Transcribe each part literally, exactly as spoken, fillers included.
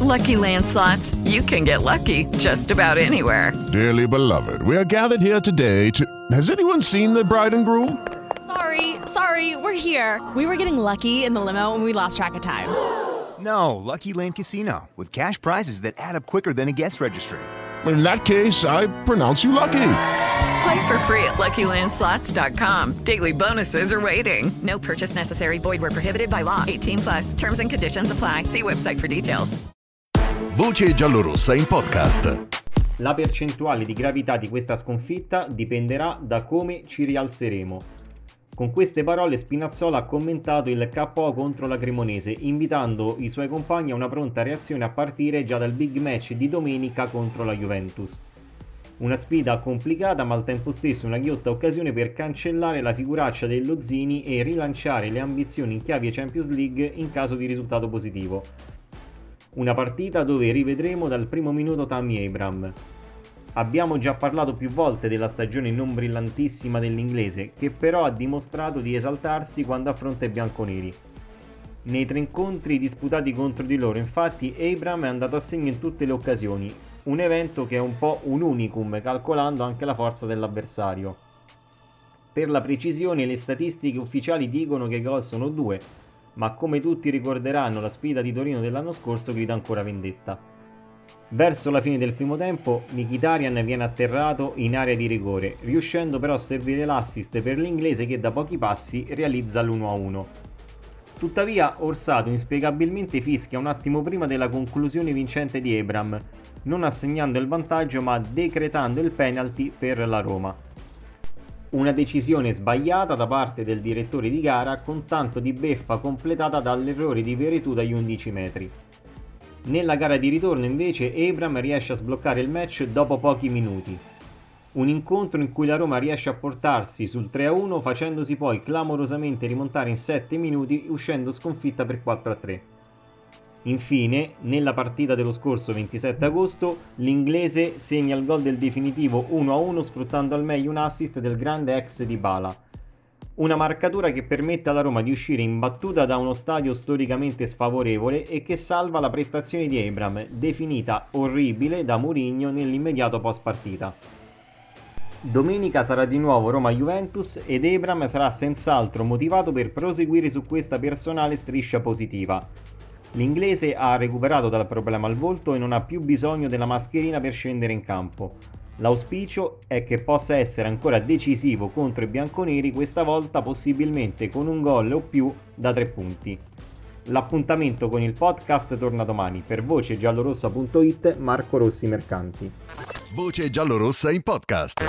Lucky Land Slots, you can get lucky just about anywhere. Dearly beloved, we are gathered here today to... Has anyone seen the bride and groom? Sorry, sorry, we're here. We were getting lucky in the limo and we lost track of time. No, Lucky Land Casino, with cash prizes that add up quicker than a guest registry. In that case, I pronounce you lucky. Play for free at lucky land slots dot com. Daily bonuses are waiting. No purchase necessary. Void where prohibited by law. eighteen plus. Terms and conditions apply. See website for details. Voce giallorossa in podcast. La percentuale di gravità di questa sconfitta dipenderà da come ci rialzeremo. Con queste parole Spinazzola ha commentato il K O contro la Cremonese, invitando i suoi compagni a una pronta reazione a partire già dal big match di domenica contro la Juventus. Una sfida complicata ma al tempo stesso una ghiotta occasione per cancellare la figuraccia dello Zini e rilanciare le ambizioni in chiave Champions League in caso di risultato positivo. Una partita dove rivedremo dal primo minuto Tammy Abraham. Abbiamo già parlato più volte della stagione non brillantissima dell'inglese, che però ha dimostrato di esaltarsi quando affronta i bianconeri. Nei tre incontri disputati contro di loro, infatti, Abraham è andato a segno in tutte le occasioni, un evento che è un po' un unicum, calcolando anche la forza dell'avversario. Per la precisione, le statistiche ufficiali dicono che i gol sono due, ma come tutti ricorderanno, la sfida di Torino dell'anno scorso grida ancora vendetta. Verso la fine del primo tempo, Mkhitaryan viene atterrato in area di rigore, riuscendo però a servire l'assist per l'inglese che da pochi passi realizza l'uno a uno. Tuttavia Orsato inspiegabilmente fischia un attimo prima della conclusione vincente di Abraham, non assegnando il vantaggio ma decretando il penalty per la Roma. Una decisione sbagliata da parte del direttore di gara, con tanto di beffa completata dall'errore di Veretout dagli undici metri. Nella gara di ritorno invece Abraham riesce a sbloccare il match dopo pochi minuti. Un incontro in cui la Roma riesce a portarsi sul tre a uno facendosi poi clamorosamente rimontare in sette minuti uscendo sconfitta per quattro a tre. Infine, nella partita dello scorso ventisette agosto, l'inglese segna il gol del definitivo uno a uno sfruttando al meglio un assist del grande ex Dybala. Una marcatura che permette alla Roma di uscire imbattuta da uno stadio storicamente sfavorevole e che salva la prestazione di Abraham, definita orribile da Mourinho nell'immediato post partita. Domenica sarà di nuovo Roma-Juventus ed Abraham sarà senz'altro motivato per proseguire su questa personale striscia positiva. L'inglese ha recuperato dal problema al volto e non ha più bisogno della mascherina per scendere in campo. L'auspicio è che possa essere ancora decisivo contro i bianconeri, questa volta possibilmente con un gol o più da tre punti. L'appuntamento con il podcast torna domani. Per voce giallorossa punto it, Marco Rossi Mercanti. Voce giallorossa in podcast.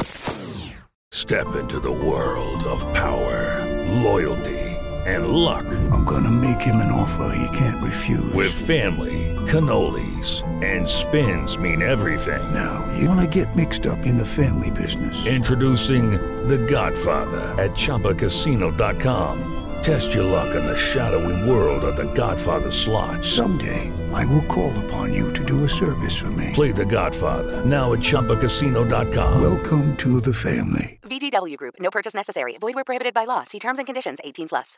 Step into the world of power, loyalty and luck. I'm gonna make him an offer he can't refuse. With family, cannolis and spins mean everything. Now, you wanna get mixed up in the family business. Introducing The Godfather at Chumba Casino dot com. Test your luck in the shadowy world of The Godfather slot. Someday, I will call upon you to do a service for me. Play The Godfather now at Chumba Casino dot com. Welcome to the family. V G W Group. No purchase necessary. Void where prohibited by law. See terms and conditions. eighteen plus.